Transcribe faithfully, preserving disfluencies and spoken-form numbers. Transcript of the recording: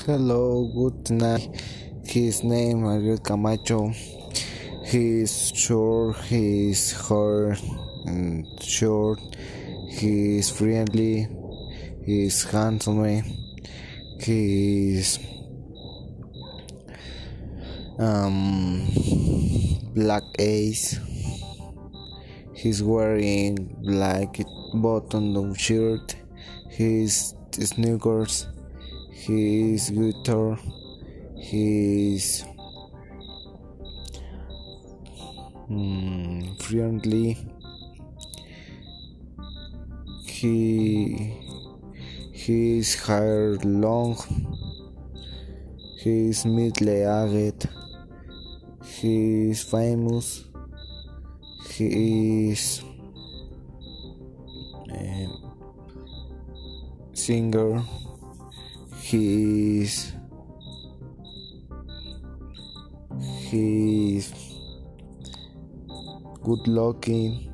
Hello, good night. His name Ariel Camacho. He's short, he's hard and short, he's friendly, he's handsome, he's um black ace. He's wearing black button shirt, his sneakers, his guitar, his mm, friendly. He his hair long. He's middle-aged. He's famous. He is a singer. He is he's good looking.